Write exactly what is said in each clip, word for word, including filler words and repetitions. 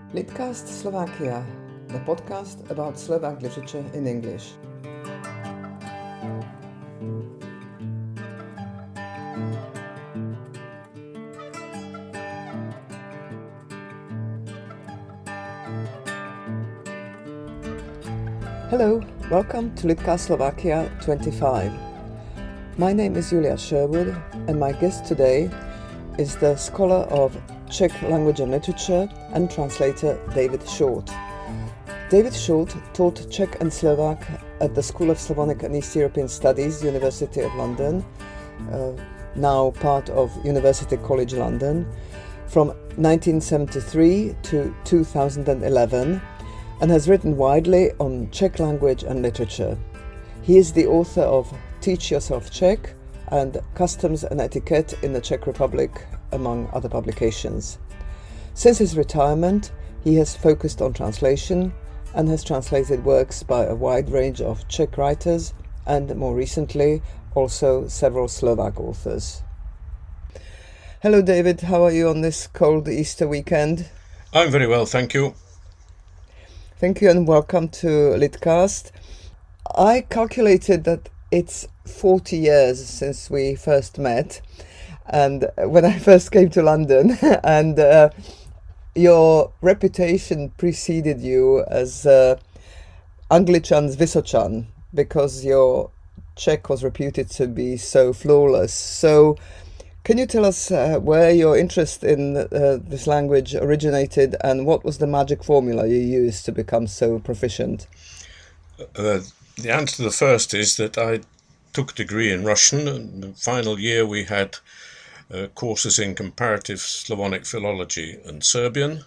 Litcast Slovakia, the podcast about Slovak literature in English. Hello, welcome to Litcast Slovakia twenty-five. My name is Julia Sherwood, and my guest today is the scholar of Czech language and literature and translator David Short. David Short taught Czech and Slovak at the School of Slavonic and East European Studies, University of London, uh, now part of University College London, from nineteen seventy-three to two thousand eleven, and has written widely on Czech language and literature. He is the author of Teach Yourself Czech and Customs and Etiquette in the Czech Republic, among other publications. Since his retirement, he has focused on translation and has translated works by a wide range of Czech writers and, more recently, also several Slovak authors. Hello, David. How are you on this cold Easter weekend? I'm very well, thank you. Thank you and welcome to Litcast. I calculated that it's forty years since we first met, and when I first came to London, and uh, your reputation preceded you as uh, Angličan z Vysočan, because your Czech was reputed to be so flawless. So can you tell us uh, where your interest in uh, this language originated, and what was the magic formula you used to become so proficient? Uh, the answer to the first is that I took a degree in Russian. In the final year we had uh, courses in comparative Slavonic philology and Serbian.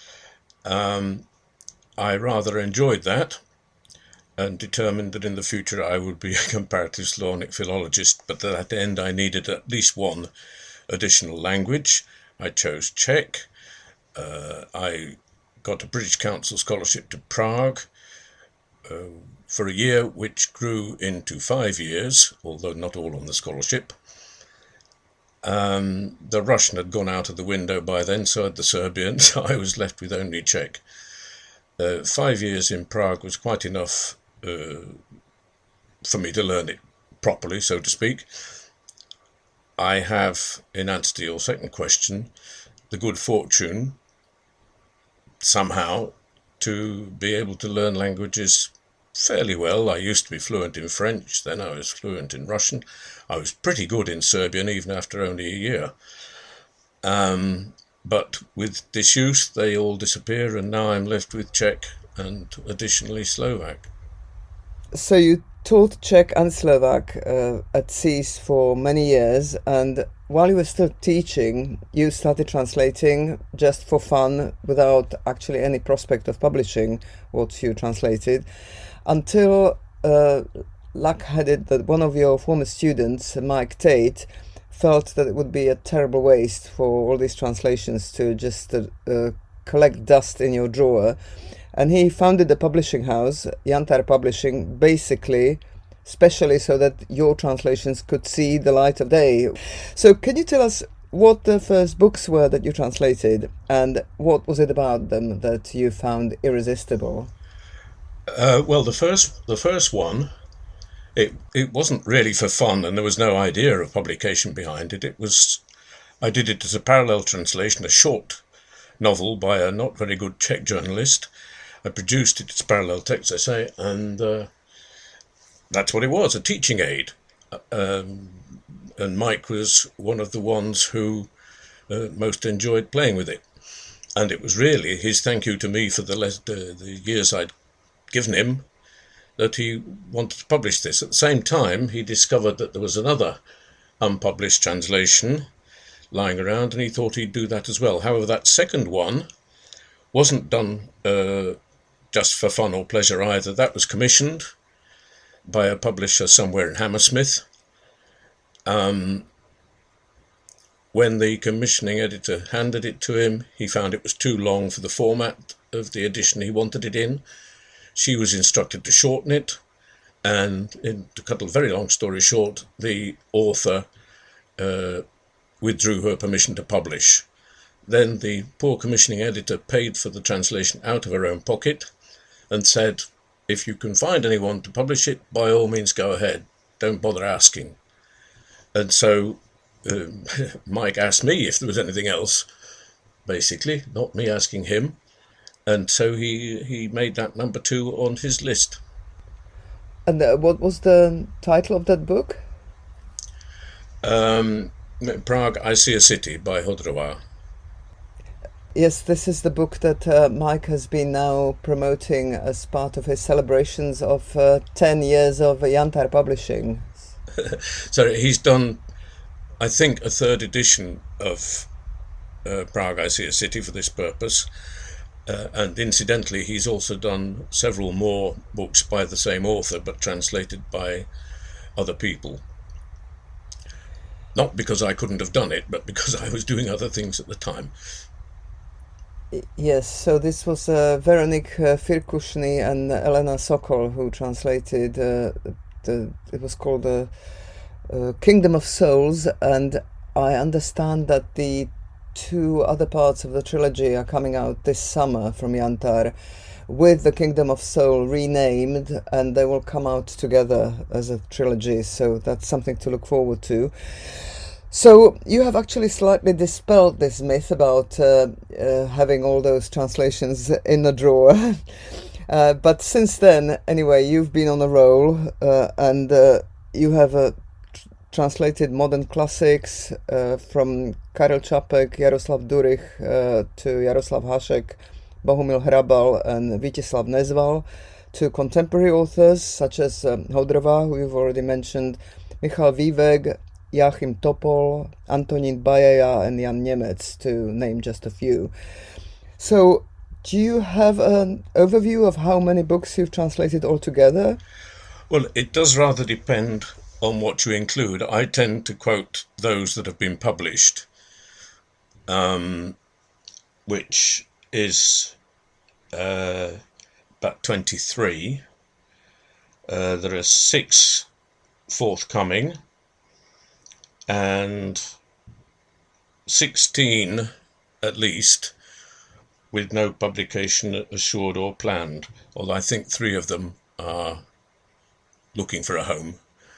Um, I rather enjoyed that and determined that in the future I would be a comparative Slavonic philologist, but at that end I needed at least one additional language. I chose Czech. Uh, I got a British Council scholarship to Prague uh, for a year, which grew into five years, although not all on the scholarship. Um, the Russian had gone out of the window by then, so had the Serbian, so I was left with only Czech. Uh, five years in Prague was quite enough uh, for me to learn it properly, so to speak. I have, in answer to your second question, the good fortune, somehow, to be able to learn languages fairly well. I used to be fluent in French, then I was fluent in Russian. I was pretty good in Serbian even after only a year. Um, but with disuse, they all disappear, and now I'm left with Czech and additionally Slovak. So you taught Czech and Slovak uh, at C E A S for many years, and while you were still teaching, you started translating just for fun, without actually any prospect of publishing what you translated, until uh, luck had it that one of your former students, Mike Tate, felt that it would be a terrible waste for all these translations to just uh, uh, collect dust in your drawer. And he founded a publishing house, Jantar Publishing, basically, especially so that your translations could see the light of day. So can you tell us what the first books were that you translated, and what was it about them that you found irresistible? Uh, well, the first the first one, it it wasn't really for fun, and there was no idea of publication behind it. It was, I did it as a parallel translation, a short novel by a not very good Czech journalist. I produced it as parallel text, I say, and uh, that's what it was, a teaching aid. Um, and Mike was one of the ones who uh, most enjoyed playing with it. And it was really his thank you to me for the, le- the, the years I'd given him that he wanted to publish this. At the same time, he discovered that there was another unpublished translation lying around, and he thought he'd do that as well. However, that second one wasn't done uh, just for fun or pleasure either. That was commissioned by a publisher somewhere in Hammersmith. Um, when the commissioning editor handed it to him, he found it was too long for the format of the edition he wanted it in. She was instructed to shorten it, and in, to cut a very long story short, the author uh, withdrew her permission to publish. then the poor commissioning editor paid for the translation out of her own pocket and said, if you can find anyone to publish it, by all means go ahead. Don't bother asking. And so um, Mike asked me if there was anything else, basically, not me asking him. And so he, he made that number two on his list. And uh, what was the title of that book? Um, Prague, I See a City by Hodrova. Yes, this is the book that uh, Mike has been now promoting as part of his celebrations of uh, ten years of Jantar Publishing. So he's done, I think, a third edition of uh, Prague, I See a City for this purpose. Uh, and incidentally, he's also done several more books by the same author, but translated by other people. Not because I couldn't have done it, but because I was doing other things at the time. Yes, so this was uh, Veronique uh, Firkushny and Elena Sokol who translated, uh, the, it was called the uh, uh, Kingdom of Souls, and I understand that the two other parts of the trilogy are coming out this summer from Jantar with the Kingdom of Soul renamed, and they will come out together as a trilogy, so that's something to look forward to. So you have actually slightly dispelled this myth about uh, uh, having all those translations in a drawer. uh, but since then, anyway, you've been on a roll uh, and uh, you have uh, tr- translated modern classics uh, from Karel Čapek, Jaroslav Durich uh, to Jaroslav Hašek, Bohumil Hrabal and Vítězslav Nezval, to contemporary authors such as um, Hodrova, who you've already mentioned, Michal Vývek, Joachim Topol, Antonín Bajeja and Jan Němec, to name just a few. So, do you have an overview of how many books you've translated altogether? Well, it does rather depend on what you include. I tend to quote those that have been published, um, which is uh, about twenty-three. Uh, there are six forthcoming, and sixteen at least with no publication assured or planned, although I think three of them are looking for a home.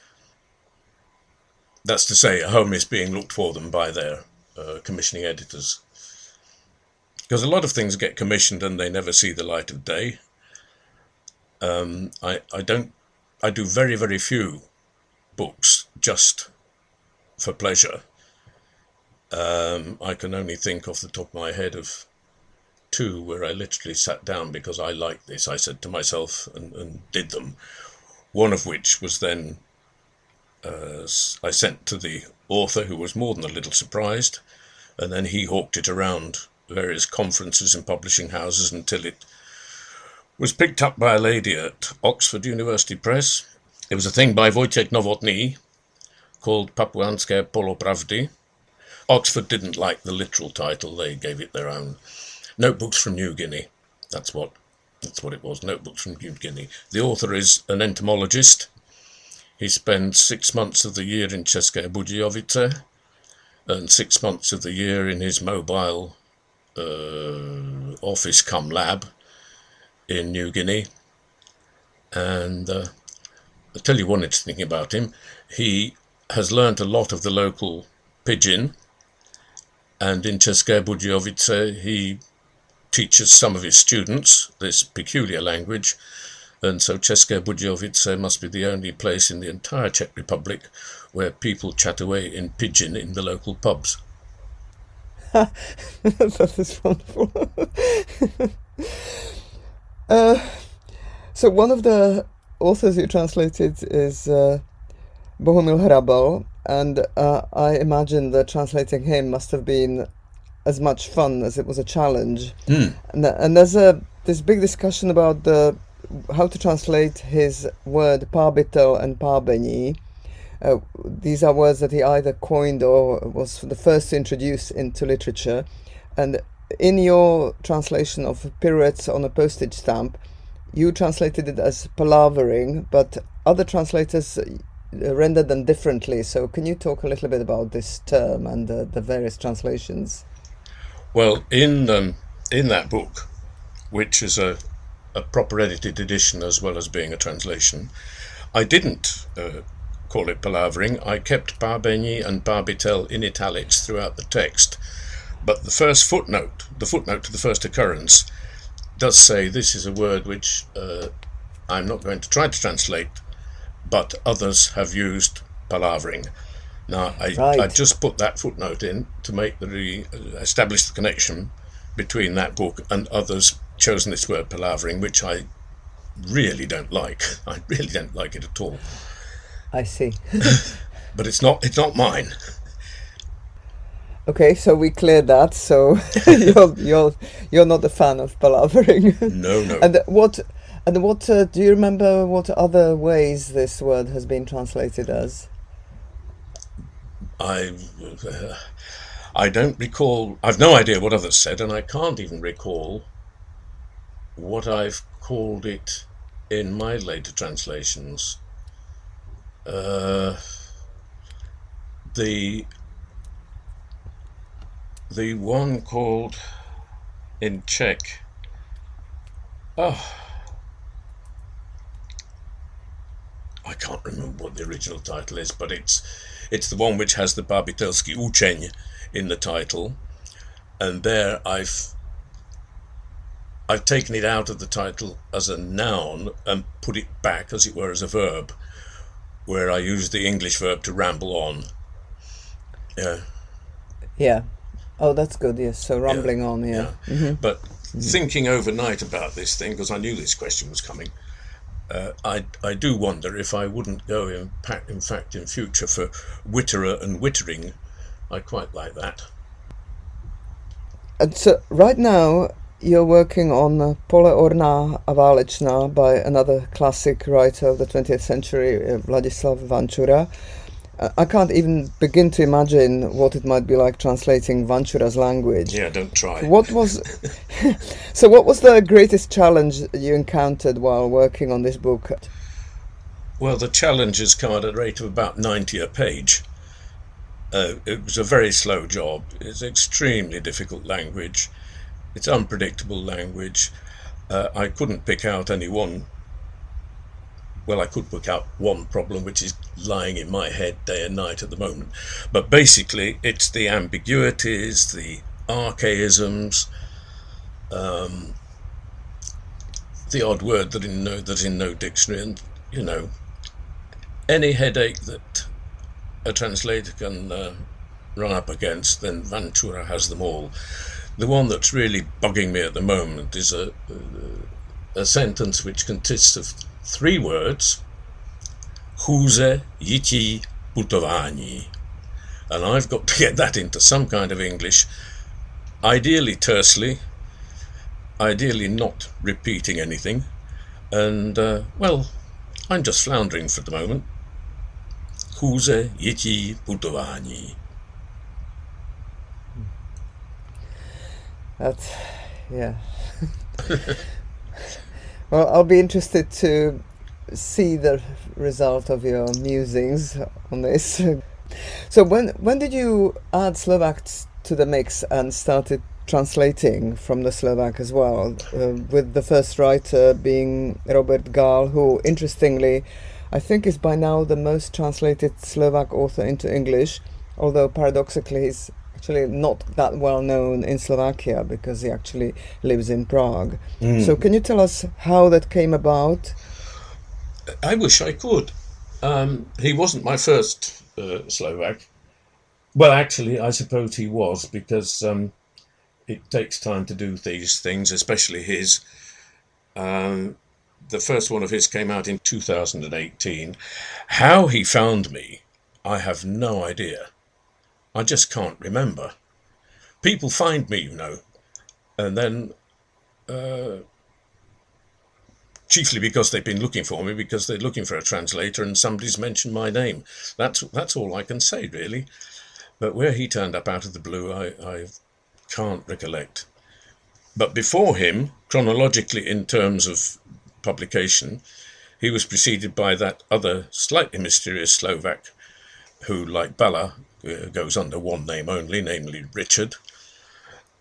That's to say, a home is being looked for them by their uh, commissioning editors. Because a lot of things get commissioned and they never see the light of day. Um, I, I don't, I do very, very few books just for pleasure. Um, I can only think off the top of my head of two where I literally sat down because I liked this, I said to myself, and, and did them. One of which was then uh, I sent to the author, who was more than a little surprised, and then he hawked it around various conferences and publishing houses until it was picked up by a lady at Oxford University Press. It was a thing by Wojciech Nowotny called Papuanské Polopravdy. Oxford didn't like the literal title, they gave it their own. Notebooks from New Guinea. That's what that's what it was, Notebooks from New Guinea. The author is an entomologist. He spends six months of the year in České Budějovice and six months of the year in his mobile uh, office cum lab in New Guinea. And uh, I'll tell you one interesting thing about him. He has learnt a lot of the local pidgin, and in České Budějovice he teaches some of his students this peculiar language, and so České Budějovice must be the only place in the entire Czech Republic where people chat away in pidgin in the local pubs. That is wonderful. uh, so one of the authors you translated is uh, Bohumil Hrabal, and uh, I imagine that translating him must have been as much fun as it was a challenge. Mm. And, and there's a this big discussion about the how to translate his word parbitel and parbeni. Uh, these are words that he either coined or was the first to introduce into literature. And in your translation of Pirouettes on a Postage Stamp, you translated it as palavering, but other translators rendered them differently. So can you talk a little bit about this term and uh, the various translations? Well, in um, in that book, which is a, a proper edited edition as well as being a translation, I didn't uh, call it palavering. I kept Barbeni and Barbitel in italics throughout the text. But the first footnote, the footnote to the first occurrence, does say this is a word which uh, I'm not going to try to translate, but others have used palavering. Now, I, Right. I just put that footnote in to make the re- establish the connection between that book and others chosen this word palavering, which I really don't like. I really don't like it at all. I see. But it's not it's not mine. Okay, so we cleared that. So you're you're you're not a fan of palavering. No, no. And what and what uh, do you remember? What other ways this word has been translated as? I uh, I don't recall. I've no idea what others said, and I can't even recall what I've called it in my later translations. Uh, the the one called in Czech. Oh, I can't remember what the original title is, but it's it's the one which has the Barbitelski Učeň in the title, and there I've I've taken it out of the title as a noun and put it back, as it were, as a verb, where I use the English verb to ramble on. Yeah. Yeah. Oh, that's good. Yes. So rambling yeah, on. Yeah. yeah. Mm-hmm. But mm-hmm. thinking overnight about this thing, because I knew this question was coming, uh, I I do wonder if I wouldn't go in, in fact in future for witterer and wittering. I quite like that. And so right now you're working on uh, Pole orná a válečná by another classic writer of the twentieth century, uh, Vladislav Vančura. Uh, I can't even begin to imagine what it might be like translating Vančura's language. Yeah, don't try. What was so? What was the greatest challenge you encountered while working on this book? Well, the challenges come at a rate of about ninety a page. Uh, it was a very slow job. It's extremely difficult language. It's unpredictable language. Uh, I couldn't pick out any one. Well, I could pick out one problem which is lying in my head day and night at the moment. But basically, it's the ambiguities, the archaisms, um, the odd word that in no that's in no dictionary, and you know, any headache that a translator can uh, run up against, then Vančura has them all. The one that's really bugging me at the moment is a, a, a sentence which consists of three words: chůze, jití, putování. And I've got to get that into some kind of English, ideally tersely, ideally not repeating anything, and uh, well, I'm just floundering for the moment. Chůze, jití, putování. That's, yeah. Well, I'll be interested to see the result of your musings on this. So when when did you add Slovak to the mix and started translating from the Slovak as well, uh, with the first writer being Robert Gál, who, interestingly, I think is by now the most translated Slovak author into English, although paradoxically he's actually not that well known in Slovakia because he actually lives in Prague. Mm. So can you tell us how that came about? I wish I could. Um, he wasn't my first uh, Slovak. Well, actually, I suppose he was, because um, it takes time to do these things, especially his. Um, the first one of his came out in two thousand eighteen. How he found me, I have no idea. I just can't remember. People find me, you know, and then uh, chiefly because they've been looking for me, because they're looking for a translator and somebody's mentioned my name. That's that's all I can say, really. But where he turned up out of the blue, I, I can't recollect. But before him, chronologically in terms of publication, he was preceded by that other slightly mysterious Slovak who, like Bala, uh, goes under one name only, namely Richard.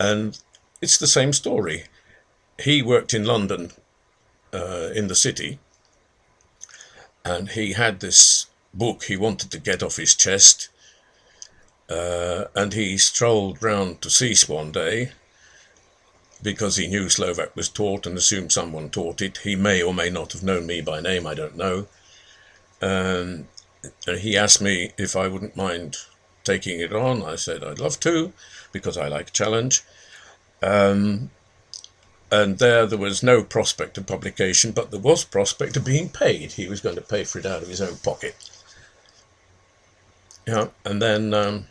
And it's the same story. He worked in London, uh, in the city, and he had this book he wanted to get off his chest, uh, and he strolled round to Sis one day because he knew Slovak was taught and assumed someone taught it. He may or may not have known me by name, I don't know. Um, he asked me if I wouldn't mind taking it on. I said I'd love to, because I like challenge. Um, and there there was no prospect of publication, but there was prospect of being paid. He was going to pay for it out of his own pocket. Yeah, and then um,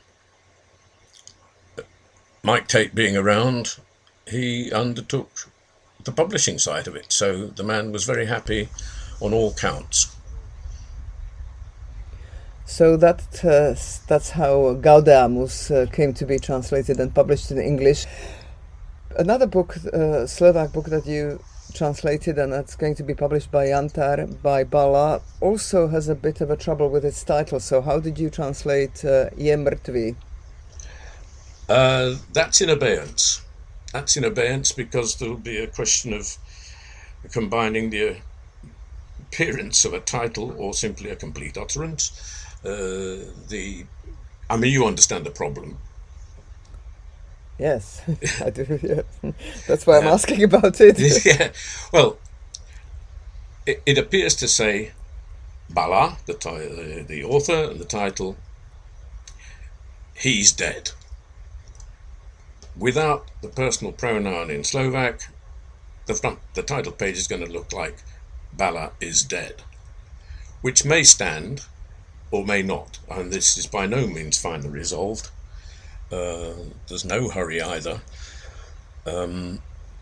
Mike Tate being around, he undertook the publishing side of it. So the man was very happy on all counts. So that uh, that's how Gaudeamus uh, came to be translated and published in English. Another book, uh, Slovak book that you translated and that's going to be published by Jantar, by Bala, also has a bit of a trouble with its title. So how did you translate uh, Je mrtvý? Uh, that's in abeyance. That's in abeyance because there will be a question of combining the appearance of a title or simply a complete utterance. Uh, the, I mean, you understand the problem. Yes, I do. Yes. That's why I'm uh, asking about it. Yeah. Well, it, it appears to say Bala, the uh, the author, and the title. He's dead. Without the personal pronoun in Slovak, the front, the title page is going to look like Bala is dead, which may stand or may not, and this is by no means finally resolved. Uh, there's no hurry either. Um,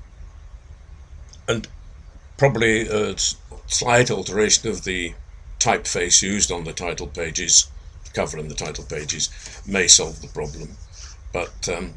and probably a slight alteration of the typeface used on the title pages, cover and the title pages, may solve the problem. But um,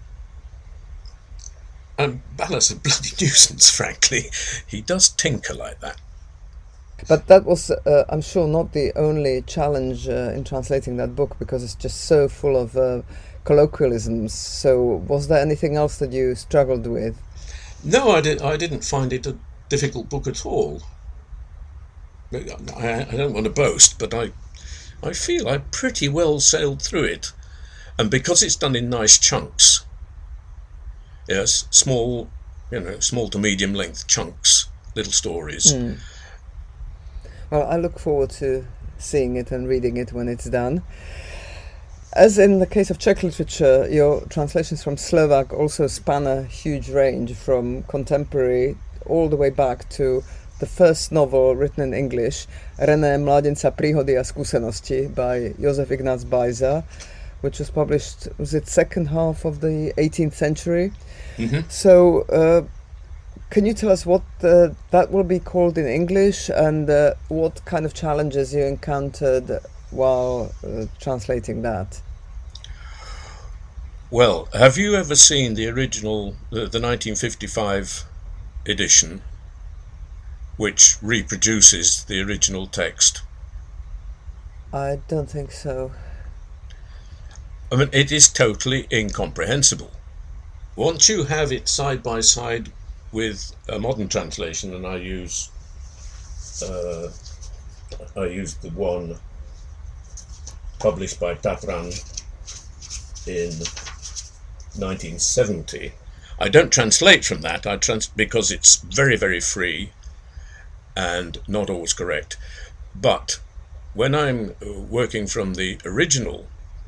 and Bala's a bloody nuisance, frankly. He does tinker like that. But that was, uh, I'm sure, not the only challenge uh, in translating that book, because it's just so full of uh, colloquialisms. So was there anything else that you struggled with? No, I, did, I didn't find it a difficult book at all. I, I don't want to boast, but I, I feel I pretty well sailed through it. And because it's done in nice chunks, yes, small, you know, small to medium length chunks, little stories. Mm. Well, I look forward to seeing it and reading it when it's done. As in the case of Czech literature, your translations from Slovak also span a huge range, from contemporary all the way back to the first novel written in English, René Mládenca Príhody a skúsenosti by Josef Ignác Bajza, which was published, was it second half of the eighteenth century? Mm-hmm. So, uh, can you tell us what uh, that will be called in English, and uh, what kind of challenges you encountered while uh, translating that? Well, have you ever seen the original, the, the nineteen fifty-five edition, which reproduces the original text? I don't think so. I mean, it is totally incomprehensible. Once you have it side by side with a modern translation, and I use uh, I used the one published by Tatran in nineteen seventy. I don't translate from that. I trans because it's very, very free and not always correct. But when I'm working from the original,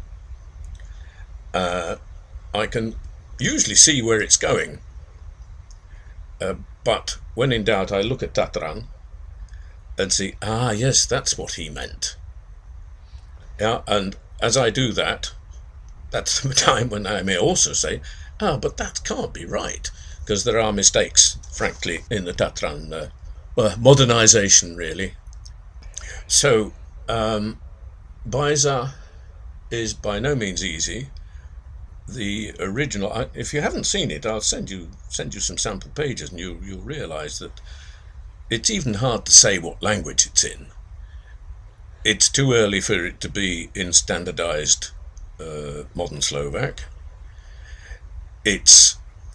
uh, I can usually see where it's going. Uh, but when in doubt, I look at Tatran and see, ah, yes, that's what he meant. Yeah, and as I do that, that's the time when I may also say, ah, but that can't be right, because there are mistakes, frankly, in the Tatran uh, well, modernization, really. So, um, Bajza is by no means easy. The original, I, if you haven't seen it, I'll send you send you some sample pages, and you you'll realise that it's even hard to say what language it's in. It's too early for it to be in standardised uh, modern Slovak. It's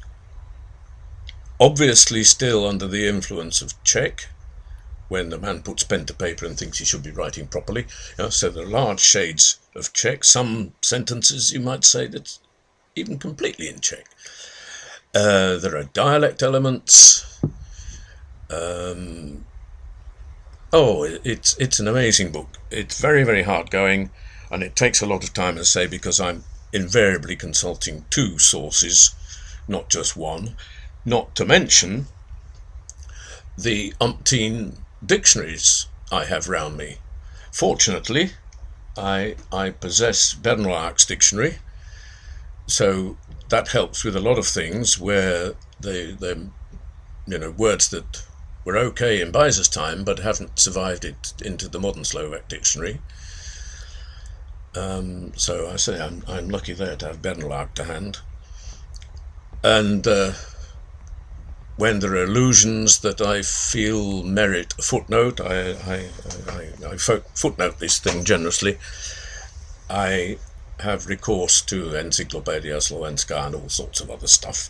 obviously still under the influence of Czech, when the man puts pen to paper and thinks he should be writing properly. You know, so there are large shades of Czech. Some sentences, you might say, that's even completely in Czech. Uh, there are dialect elements. Um, oh, it's it's an amazing book. It's very, very hard going, and it takes a lot of time, as I say, because I'm invariably consulting two sources, not just one. Not to mention the umpteen dictionaries I have round me. Fortunately, I I possess Bernlach's dictionary, so that helps with a lot of things where they they you know words that were okay in Beiser's time but haven't survived it into the modern Slovak dictionary. Um, so I say I'm I'm lucky there to have Bernlach to hand, and. Uh, When there are allusions that I feel merit a footnote, I, I, I, I footnote this thing generously. I have recourse to Encyclopedia Slovenska and all sorts of other stuff.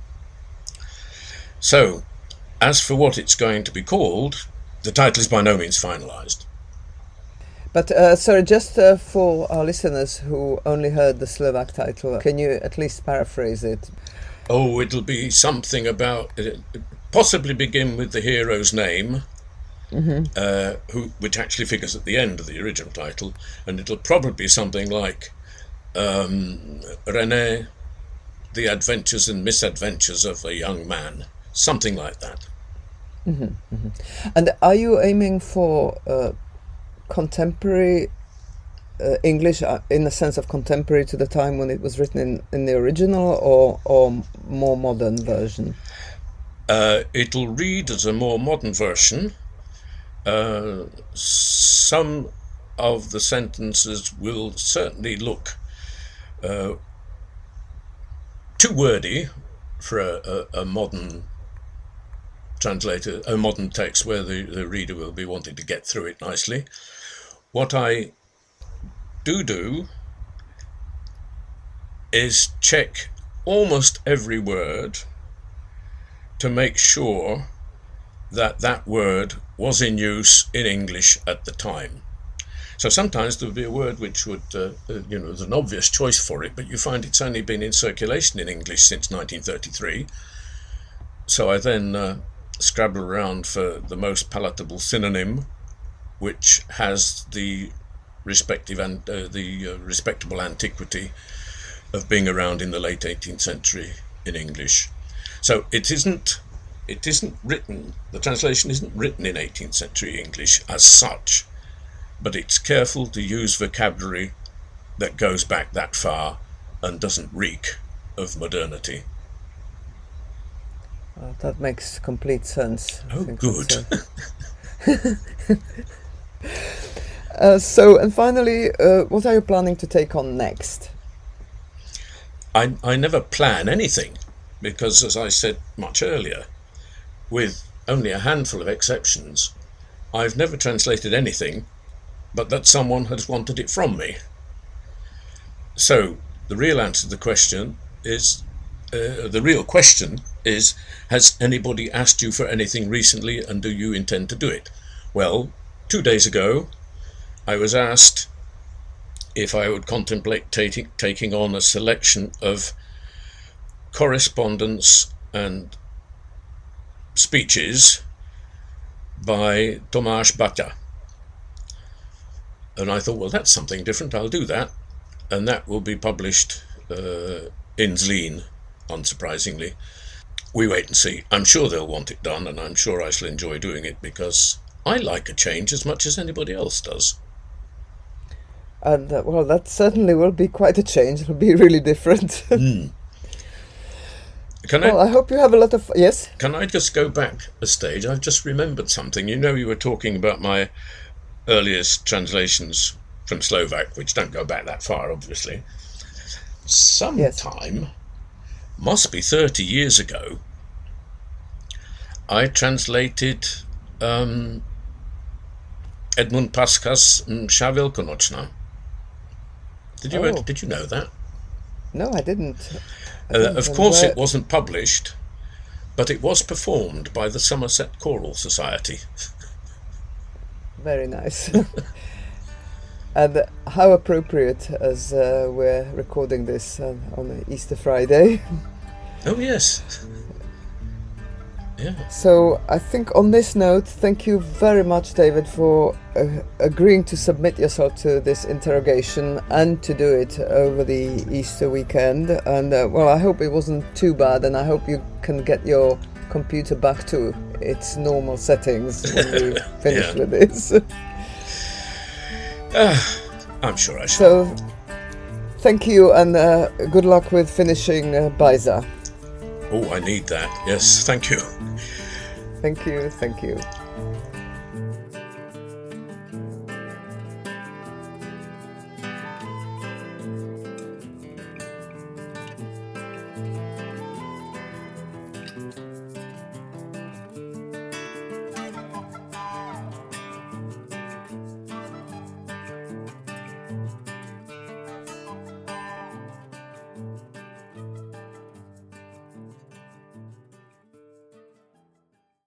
So, as for what it's going to be called, the title is by no means finalised. But, uh, sorry, just uh, for our listeners who only heard the Slovak title, can you at least paraphrase it? Oh, it'll be something about, uh, possibly begin with the hero's name, mm-hmm. uh, who which actually figures at the end of the original title, and it'll probably be something like um, René, The Adventures and Misadventures of a Young Man, something like that. Mm-hmm, mm-hmm. And are you aiming for uh, contemporary Uh, English, uh, in the sense of contemporary to the time when it was written in, in the original, or or more modern version? Uh, it'll read as a more modern version. Uh, some of the sentences will certainly look uh, too wordy for a, a, a modern translator, a modern text where the, the reader will be wanting to get through it nicely. What I do do is check almost every word to make sure that that word was in use in English at the time. So sometimes there would be a word which would, uh, uh, you know, there's an obvious choice for it, but you find it's only been in circulation in English since nineteen thirty-three. So I then uh, scrabble around for the most palatable synonym, which has the respective and uh, the uh, respectable antiquity of being around in the late eighteenth century in English. So it isn't it isn't written, the translation isn't written in eighteenth century English as such, but it's careful to use vocabulary that goes back that far and doesn't reek of modernity. Well, that makes complete sense. Oh, good. Uh, so, and finally, uh, what are you planning to take on next? I, I never plan anything because, as I said much earlier, with only a handful of exceptions, I've never translated anything but that someone has wanted it from me. So, the real answer to the question is, uh, the real question is, has anybody asked you for anything recently and do you intend to do it? Well, two days ago, I was asked if I would contemplate taking taking on a selection of correspondence and speeches by Tomáš Baťa. And I thought, well, that's something different, I'll do that. And that will be published uh, in Zlín, unsurprisingly. We wait and see. I'm sure they'll want it done, and I'm sure I shall enjoy doing it, because I like a change as much as anybody else does. And uh, well, that certainly will be quite a change. It'll be really different. mm. Can well, I, I hope you have a lot of... Yes? Can I just go back a stage? I've just remembered something. You know, you were talking about my earliest translations from Slovak, which don't go back that far, obviously. Sometime, yes. Must be thirty years ago, I translated um, Edmund Pasca's Msza Wielkonoczna. Did you oh. did you know that? No, I didn't. I Uh, didn't. of And course, where- it wasn't published, but it was performed by the Somerset Choral Society. Very nice. And how appropriate as uh, we're recording this uh, on Easter Friday. Oh, yes. Yeah. So I think on this note, thank you very much, David, for uh, agreeing to submit yourself to this interrogation and to do it over the Easter weekend. And uh, well, I hope it wasn't too bad, and I hope you can get your computer back to its normal settings when we finish Yeah. with this. Uh, I'm sure I shall. So thank you, and uh, good luck with finishing uh, Baiza. Oh, I need that. Yes, thank you. Thank you, thank you.